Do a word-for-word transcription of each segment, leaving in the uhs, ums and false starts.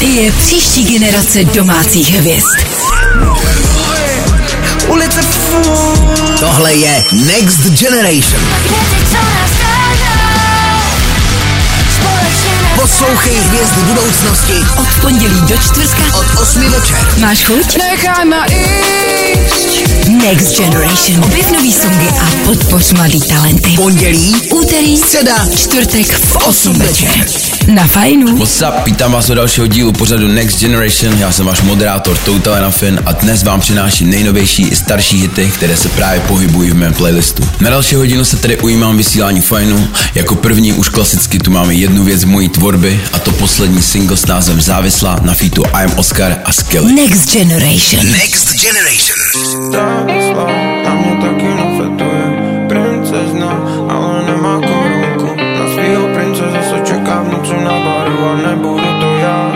je příští generace domácích hvězd. Ulice full. Tohle je Next Generation. Poslouchej hvězdy budoucnosti od pondělí do čtvrtka od osmi večer. Máš chuť? Nechaj ma ísť. Next Generation. Objev nový songy a podpoř mladý talenty. Pondělí, úterý, středa, čtvrtek v osm večer. Na Fajnu. What's up, vítám vás u dalšího dílu pořadu Next Generation, já jsem váš moderátor Total Nafin a dnes vám přináším nejnovější i starší hity, které se právě pohybují v mém playlistu. Na další hodinu se tedy ujímám vysílání Fajnu, jako první už klasicky tu máme jednu věc z mojí tvorby a to poslední single s názvem Závislá na featu I Am Oscar a Skelly. Next Generation. Next Generation. Závislá na mě taky nafetuje princezna, ale nemá korunku. Na svýho prince zase čeká v noci na baru a nebudu to já.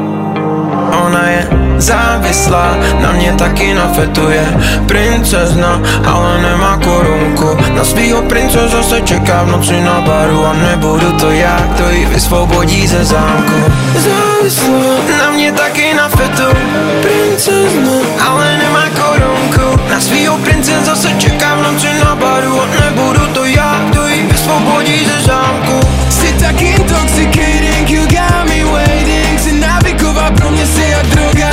Ona je závislá, na mě taky nafetuje princezna, ale nemá korunku. Na svýho prince zase čeká v noci na baru a nebudu to já, kdo ji vysvobodí ze zámku. Závislá, na mě taky nafetuje princezna, ale nemá korunku. Na svýho prince zase čeká v noci na baru a nebudu to já, kdo ji vysvobodí ze zámku. Jsi tak intoxicating, you got me waiting. Jsi návyková, pro mě jsi jak droga,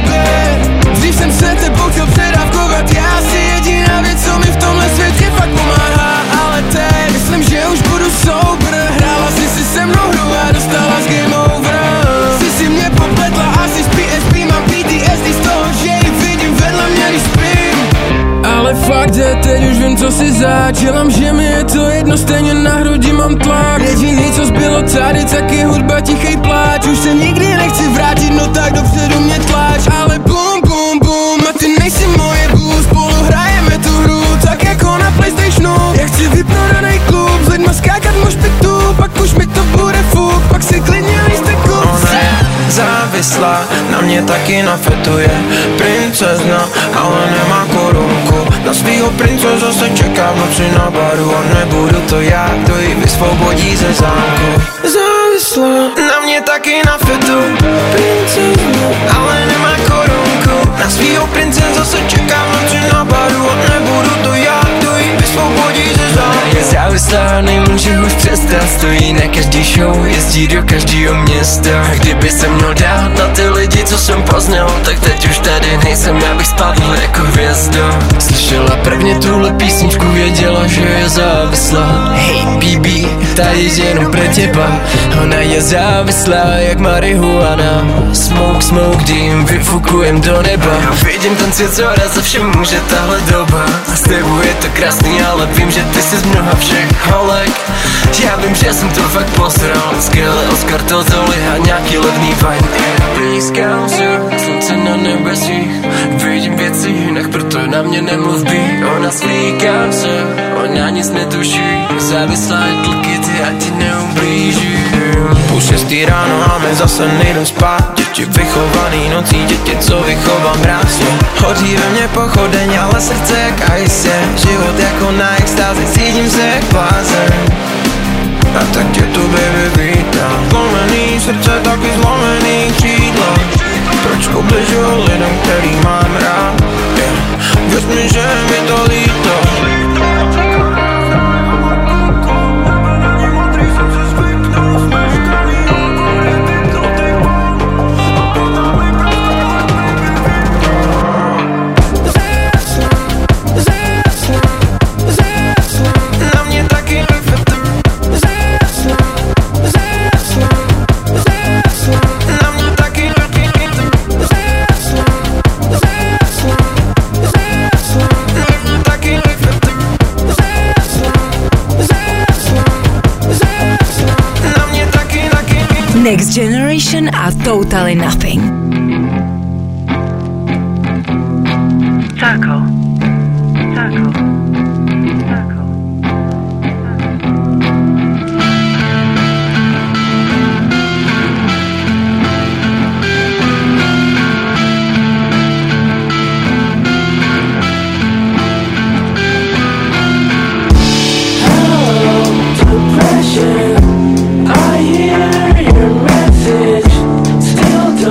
baby. Dřív jsem se tebou chtěl předávkovat, já si jediná věc, co mi v tomhle světě fakt pomáhá. Ale teď myslím, že už budu sober. Hrála jsi si se mnou hru a dostala z game over. Jsi si mě popletla, asi z P S P mám P T S D z toho, že ji vidím vedle mě, když spím. Ale fakt je, teď už vím, co si zač. Dělám, že mi je to jedno, stejně na hrudi mám tlak. Jediný, co zbylo tady, tak je hudba, tichej pláč. Už se nikdy nechci vrátit, no tak dopředu mě tlač. Ale bum, bum, bum, a ty nejsi moje boo. Spolu hrajeme tu hru, tak jako na PlayStationu. Já chci vyprodanej klub, s lidma skákat mošpitu. Pak už mi to bude fuk, pak si klidně lístek kup. Ona je závislá, na mě taky nafetuje princezna, ale nemá korunku. Na svýho prince zase čeká v noci na baru a nebudu to já, kdo ji vysvobodí ze zámku. Závislá, na mě taky nafetuje princezna, ale nemá korunku. Na svýho prince zase čeká v noci na baru a nebudu to já, kdo ji vysvobodí ze zámku. Je závislá, nemůže už přestat, stojí na každý show, jezdí do každého města. Kdyby se měl dát na ty lidi, co jsem poznal, tak teď už tady nejsem, abych spadl jako hvězda. Slyšela prvně tuhle písničku, věděla, že je závislá. Hej B B, ta je jenom pre teba. Ona je závislá jak marihuana. Smoke, smoke, dým, vyfukujem do neba. Vidím ten svět, co raz za všem může tahle doba. A s tebou je to krásný, ale vím, že ty jsi z mnoha všech holek. Já vím, že jsem to fakt posral. Skelly, Oscar, Total a nějaký levný wine. Blízkám se, slunce na nebesích. Vidím věci jinak, proto na mě nemluv bí. Ona slíkám se, ona nic netuší. Závislá je tlky, ty a ti neublíží. Půl šestý ráno a my zase nejdem spát. Děti vychovaný nocí, děti, co vychovám krásně. Hoří ve mně pochodeň, ale srdce jak ice. Život jako na extázi, cítím se jak blázen. A tak tě tu baby vítám. Zlomený srdce, taky zlomený křídla. Proč ubližuju lidem, který mám rád? Yeah. Věř mi, že mi to líto. Next Generation a Totally Nothing. Taco. Taco. Taco. Depression, I hear your message. Still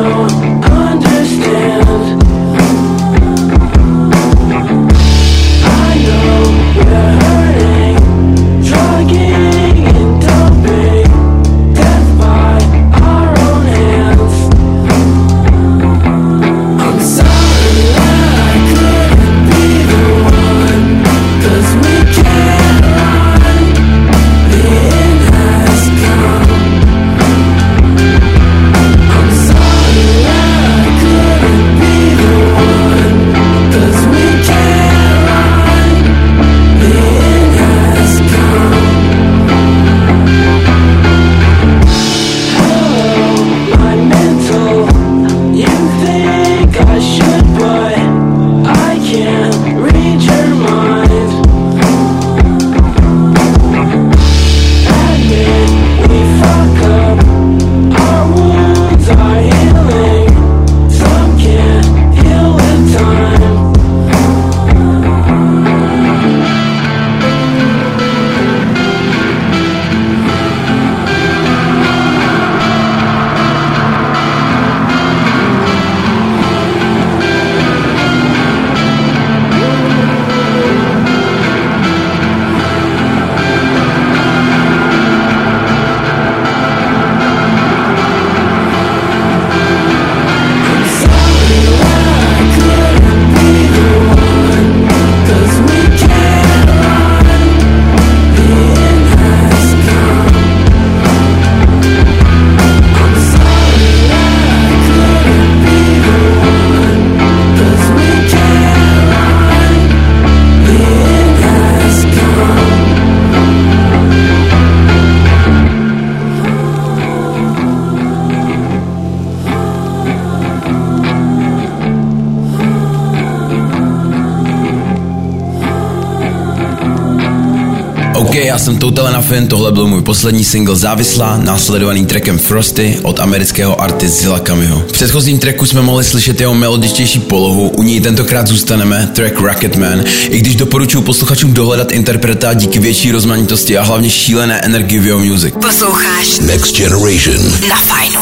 OK, já jsem Total Enoughin, tohle byl můj poslední single Závislá, následovaný trackem Frosty od amerického artisty Zilla Kamiho. V předchozím tracku jsme mohli slyšet jeho melodičtější polohu, u ní tentokrát zůstaneme, track Rocketman, i když doporučuji posluchačům dohledat interpreta díky větší rozmanitosti a hlavně šílené energii v jeho music. Posloucháš Next Generation na Fajnu.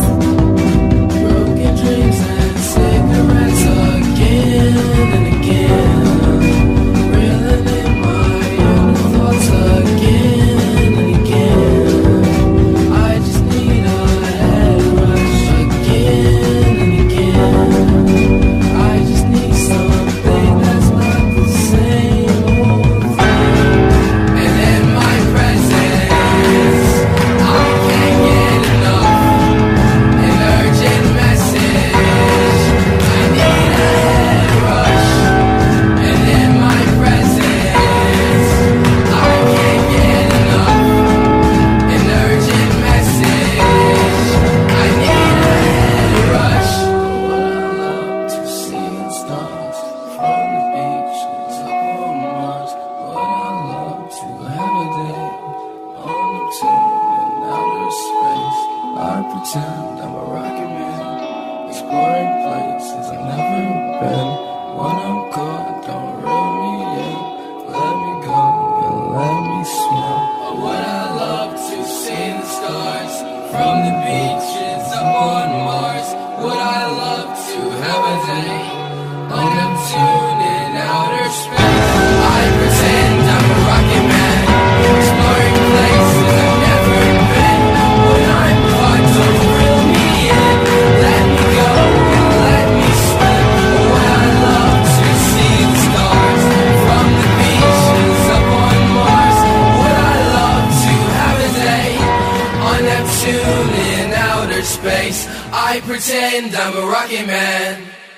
I pretend I'm a rocket man.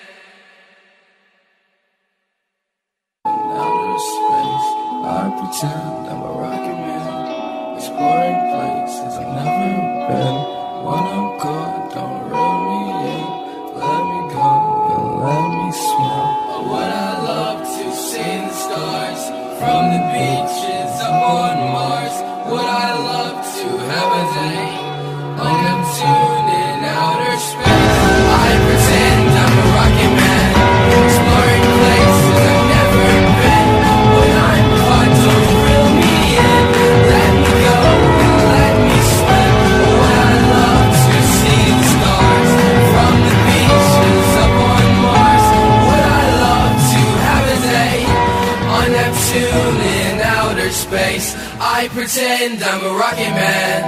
In outer space, I pretend I'm a rocket man. Exploring places I've never been. When I'm gone, don't reel me in. Let me go and let me swim. Oh, would I love to see the stars from the beaches up on Mars? Would I love to have a day on Neptune in outer space? I pretend I'm a rocket man, exploring places I've never been. When I'm caught, don't reel me in. Let me go and let me swim. Oh, would I love to see the stars from the beaches up on Mars? Would I love to have a day on Neptune in outer space? I pretend I'm a rocket man.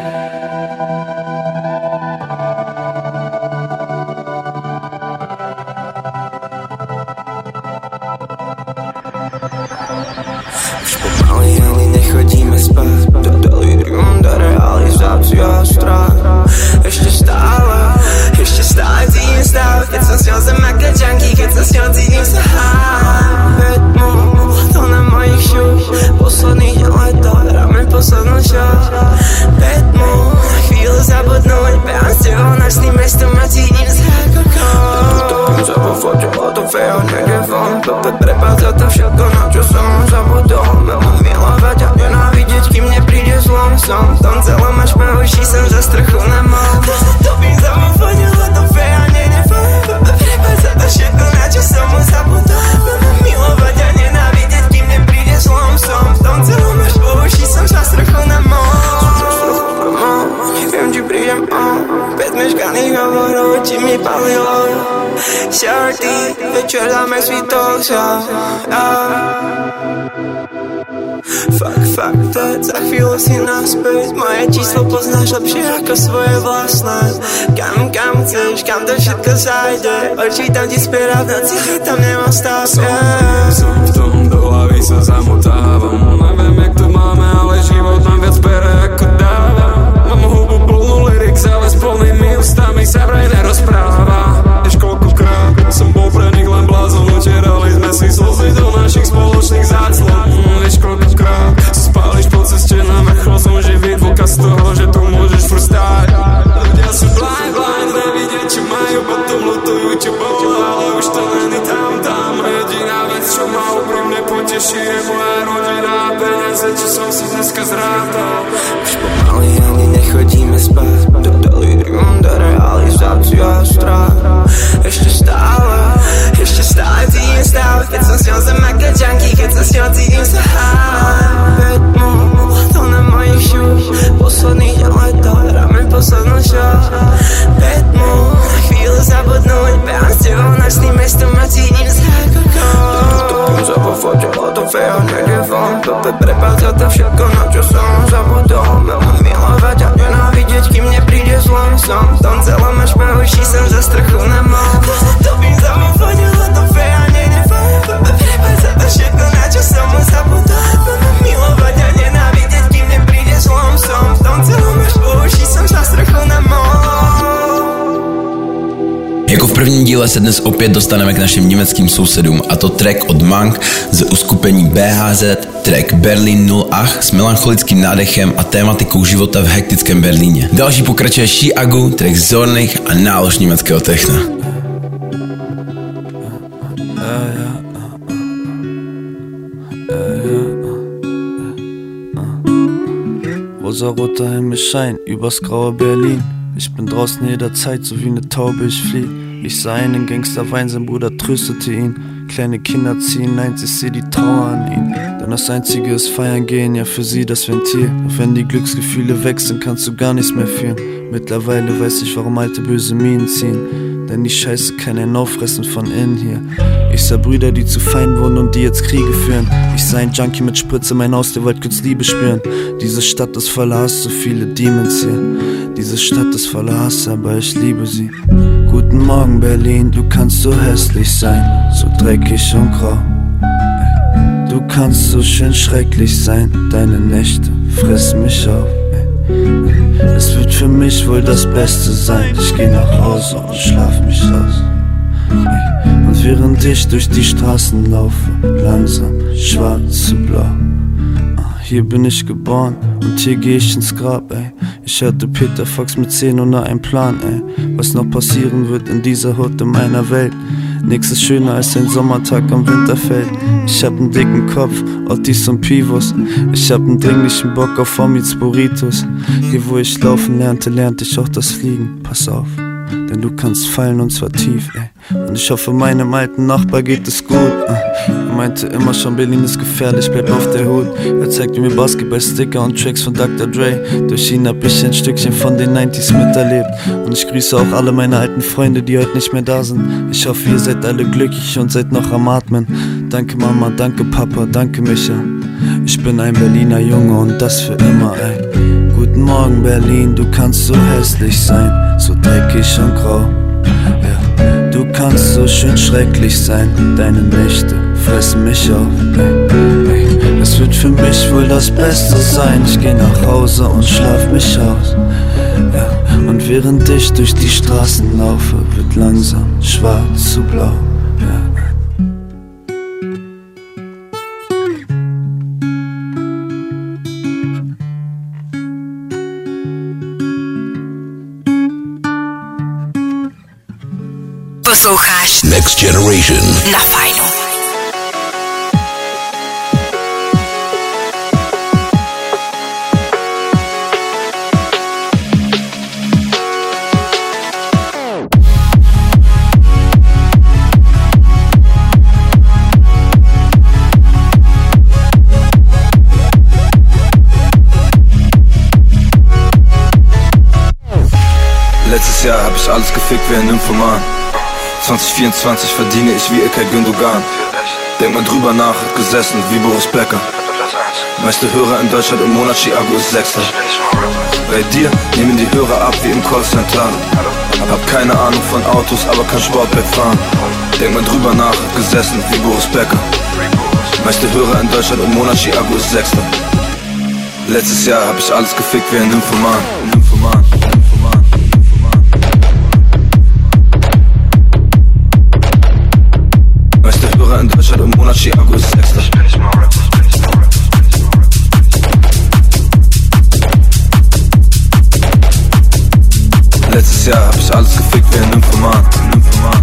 Už pomaly, ale nechodíme spát. Do delirium, do realizácia strach. Ešte stále, ešte stále cítim stav. Keď som s ňou zem aké junkie, keď sa s ňou cítim sa háť. To na mojich šuch, posledný deň leta, hráme poslednú show. Petmu, na chvíľu zabudnúť, behám s tebou naším mestom a cítim sa ako kód. Topím sa vo fote, o to fejo, niekde von. Pepe, prepáč za to všetko, na čo som zabudol. Veľmi milovať a nenávidieť, kým nepríde zlom. Som v tom celom až mahuší, som za strchu na mol. Topím sa vo fote, o to fejo, niekde von. Pepe, prepáč za to všetko, na čo som zabudol. Veľmi milovať a nenávidieť, kým nepríde zlom. Som v tom celom až mahuší, som za strchu na mol. Neviem, či prídem on. Päť meškaných hovorov, či mi palilo. Shorty, večer dáme svítol sa. Fuck, fuck that, za chvíľu si naspäť. Moje číslo poznáš lepšie ako svoje vlastné. Kam, kam chceš, kam to všetko zajde. Odčítam ti spiera v noci, tam nemám stav. Som, som v tom, do hlavy sa zamotávam. Neviem, jak to máme, ale život nám viac bere ako dáva. Mám hubu plnú lyrics, ale s plnými ústami sa vraj nerozpráva. Vieš koľkokrát som bol pre nich len blázon. Utierali sme si slzy do našich spoločných záclon. Vieš koľkokrát spáliš po ceste na vrchol. Som živý dôkaz toho, že tu môžeš furt stáť. Ľudia sú blind, blind, nevidia čo majú, potom lutujú čo bolo, ale už to není tam, tam. Jediná vec, čo ma úprimne poteší, je moja rodina a peniaze, čo som si dnes čo? Pětmu, chvíli zabudnout, běhám s těbou nočný městem a cítím se jako kol. Topím za po fotě, fotofeo, někde von, Pepe prepáca to všetko, na čo som zabudol. Mám milovat a nenávidět, kým mne príde zlom. Som v tom celom až pahuší, som za strachu nemohl. Topím za po fotě, fotofeo, někde von, Pepe prepáca to všetko, na čo som mu zabudol. Mám milovat a nenávidět, kým mne príde zlom. Som v tom celom až pahuší, som za strachu nemohl. Jako v prvním díle se dnes opět dostaneme k našim německým sousedům, a to track od Monk z uskupení B H Z, track Berlin null acht s melancholickým nádechem a tématikou života v hektickém Berlíně. Další pokračuje Chiagu, track Zornich a nálož německého techna. Rosaroter Himmel scheint übers graue Berlin. Ich bin draußen jederzeit, so wie ne Taube, ich flieh. Ich sah einen Gangster weinen, sein Bruder tröstete ihn. Kleine Kinder ziehen eins, ich seh die Trauer an ihn. Denn das Einzige ist feiern gehen, ja für sie das Ventil. Doch wenn die Glücksgefühle weg sind, kannst du gar nichts mehr fühlen. Mittlerweile weiß ich, warum alte böse Minen ziehen. Denn die Scheiße kann einen auffressen von innen hier. Ich sah Brüder, die zu Feinden wurden und die jetzt Kriege führen. Ich sah ein Junkie mit Spritze, mein Haus, der wollte kurz Liebe spüren. Diese Stadt ist voller Hass, so viele Demons hier. Diese Stadt ist voller Hass, aber ich liebe sie. Guten Morgen Berlin, du kannst so hässlich sein, so dreckig und grau. Du kannst so schön schrecklich sein, deine Nächte fressen mich auf. Es wird für mich wohl das Beste sein, ich geh nach Hause und schlaf mich aus. Und während ich durch die Straßen laufe, langsam schwarz zu blau. Hier bin ich geboren und hier geh ich ins Grab, ey. Ich hörte Peter Fox mit zehn ohne einen Plan, ey. Was noch passieren wird in dieser Hut in meiner Welt. Nix ist schöner als ein Sommertag am Winterfeld. Ich hab nen dicken Kopf, Ottis und Pivos. Ich hab nen dringlichen Bock auf Omits Burritos. Hier wo ich laufen lernte, lernte ich auch das Fliegen. Pass auf, denn du kannst fallen und zwar tief, ey. Und ich hoffe meinem alten Nachbar geht es gut. Er meinte immer schon, Berlin ist gefährlich, bleib auf der Hut. Er zeigte mir Basketball-Sticker und Tracks von Doktor Dre. Durch ihn hab ich ein Stückchen von den neunziger miterlebt. Und ich grüße auch alle meine alten Freunde, die heute nicht mehr da sind. Ich hoffe, ihr seid alle glücklich und seid noch am Atmen. Danke Mama, danke Papa, danke Micha. Ich bin ein Berliner Junge und das für immer, ey. Guten Morgen Berlin, du kannst so hässlich sein, so dreckig und grau. Ja, du kannst so schön schrecklich sein, deine Nächte fressen mich auf. Ey, ey. Es wird für mich wohl das Beste sein, ich geh nach Hause und schlaf mich aus. Ja, und während ich durch die Straßen laufe, wird langsam schwarz zu blau. Ja. Posloucháš Next Generation na Fajnu. Letztes Jahr hab ich alles gefickt wie ein Nymphoman. zwanzig vierundzwanzig verdiene ich wie Ilkay Gündogan. Denk mal drüber nach, hat gesessen wie Boris Becker. Meiste Hörer in Deutschland im Monat, Chiago ist Sechster. Bei dir nehmen die Hörer ab wie im Callcenter. Hab keine Ahnung von Autos, aber kann Sportback fahren. Denk mal drüber nach, hat gesessen wie Boris Becker. Meiste Hörer in Deutschland im Monat, Chiago ist Sechster. Letztes Jahr hab ich alles gefickt wie ein Nymphoman. Nymphoman. In Deutschland im Monat, Chiago ist Sechster. Letztes Jahr hab ich alles gefickt wie ein Nymphoman. Nymphoman.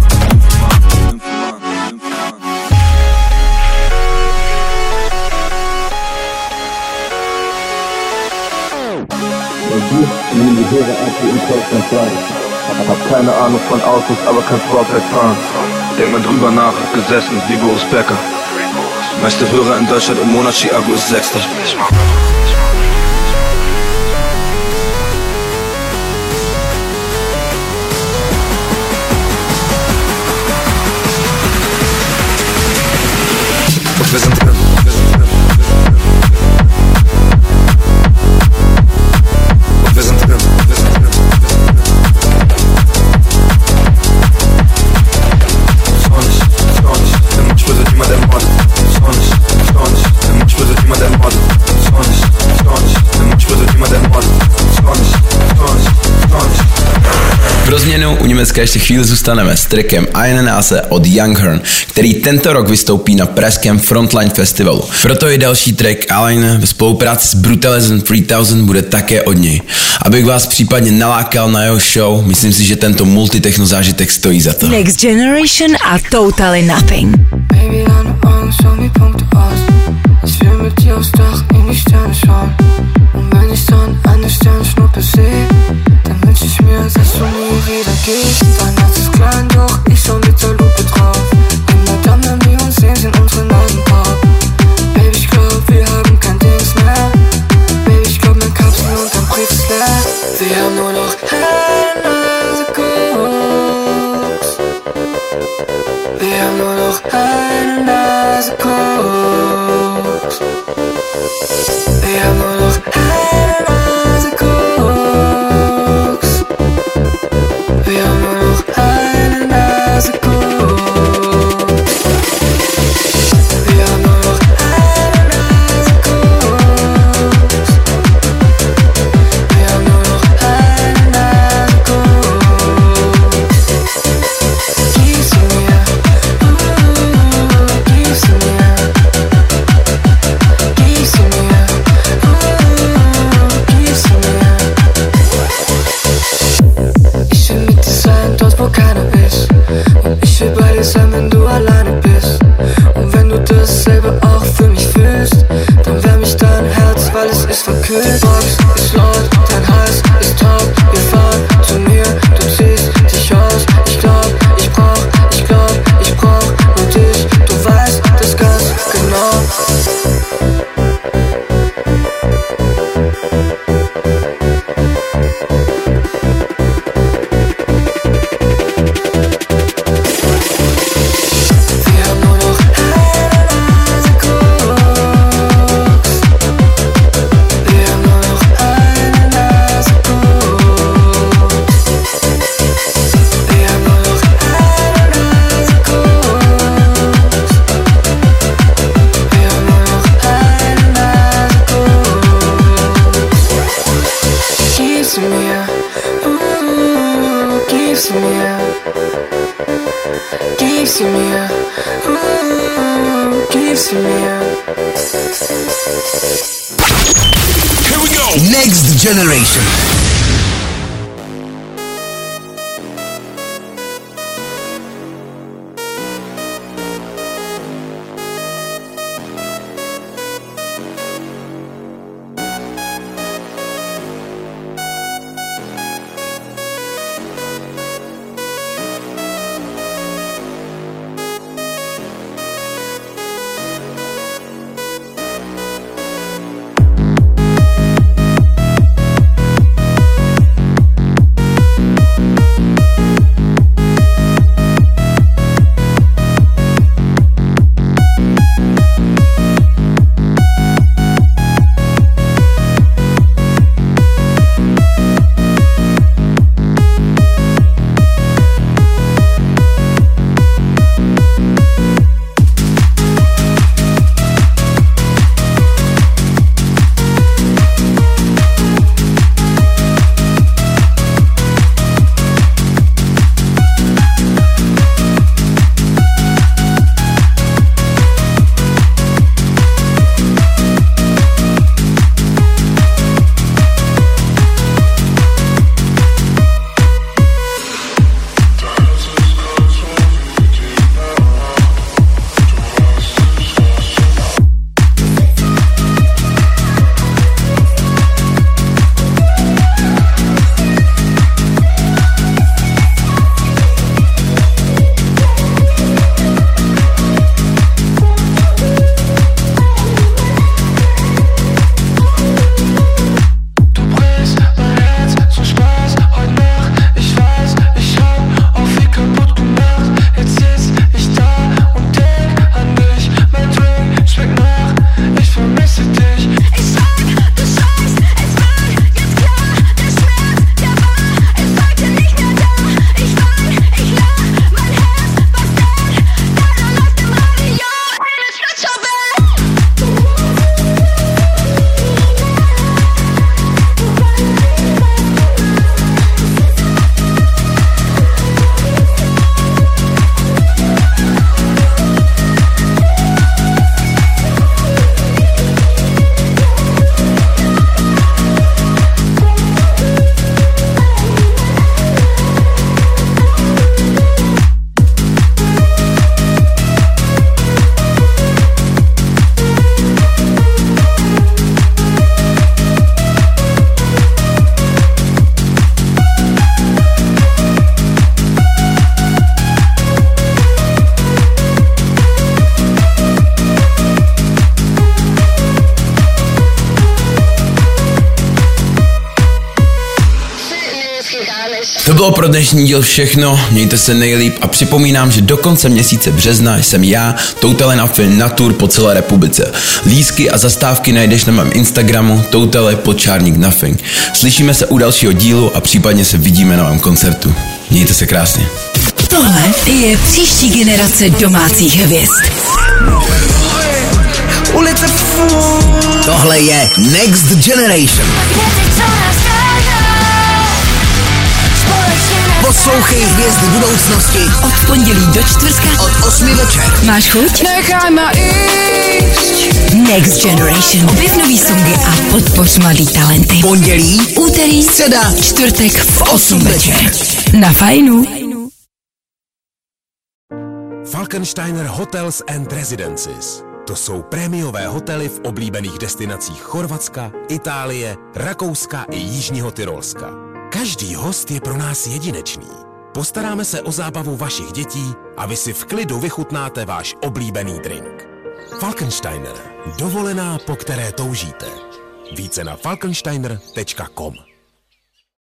Nehmen die Hörer ab wie im Callcenter. Hab keine Ahnung von Autos, aber kann Sportback fahren. Denk mal drüber nach, hab gesessen wie Boris Becker. Meiste Hörer in Deutschland im Monat, Chiago ist Sechster. Pro změnu u Německa ještě chvíli zůstaneme s trackem Einenase od Young Horn, který tento rok vystoupí na pražském Frontline Festivalu. Proto i další track Aline ve spolupráci s Brutalism tři tisíc bude také od něj. Abych vás případně nalákal na jeho show, myslím si, že tento multitechno zážitek stojí za to. Next Generation a Totally Nothing. Baby, deine Augen, schau mir Punkte aus. Ich will mit dir aufs Dach in die Sterne schauen. Und wenn ich dann eine Sternschnuppe sehe, dann wünsch ich mir, dass du nie wieder gehst. Dein Herz ist klein, doch ich schau mit der Lupe drauf. Immer dann, wenn wir uns sehen, sind unsere Nasen braun. Baby, ich glaub, wir haben kein Dings mehr. Baby, ich glaub, mein Kapsel und dein Brief ist leer. Wir haben nur noch eine Nase Koks. Wir haben nur noch eine Nase Koks. Wir haben nur noch eine Nase Koks. Wir haben nur noch eine Nase Koks. Wir haben nur noch eine Nase Koks. Wir haben nur noch eine Nase Koks. Gib sie mir, uh, gib sie mir. Gib sie mir, uh, gib sie mir. Ich will mit dir sein, dort wo keiner ist. Und ich will bei dir sein, wenn du alleine bist. Und wenn du dasselbe auch für mich fühlst, dann wärm ich dein Herz, weil es ist verkühlt. Die Box ist laut, dein Hals ist taub. Wir fahren zu mir, du ziehst dich aus. Ich glaub, ich brauch, ich glaub, ich brauch nur dich. Du weißt das ganz genau. Wir haben nur noch eine Nase Koks. Wir haben nur noch eine Nase Koks. Wir haben nur noch eine Nase Koks. Wir haben nur noch eine Nase Koks. Gib sie mir, uh, gib sie mir. Gib sie mir, uh, gib sie mir. Here we go. Next Generation. bylo pro dnešní díl všechno, mějte se nejlíp a připomínám, že do konce měsíce března jsem já, Toutale Nuffin, na tour po celé republice. Lístky a zastávky najdeš na mém Instagramu Toutale podčárník Nuffin. Slyšíme se u dalšího dílu a případně se vidíme na mém koncertu. Mějte se krásně. Tohle je příští generace domácích hvězd. Ulice fů. Tohle je Next Generation. Poslouchej hvězdy budoucnosti Od pondělí do čtvrtka od osmi večer. Máš chuť? Nechaj ma ísť. Next Generation. Objev nový songy a podpoř mladý talenty. Pondělí, Úterý, středa, čtvrtek v osm večer. Na fajnu. Falkensteiner Hotels and Residences. To jsou prémiové hotely v oblíbených destinacích Chorvatska, Itálie, Rakouska i Jižního Tyrolska. Každý host je pro nás jedinečný. Postaráme se o zábavu vašich dětí a vy si v klidu vychutnáte váš oblíbený drink. Falkensteiner. Dovolená, po které toužíte. Více na falkensteiner tečka com.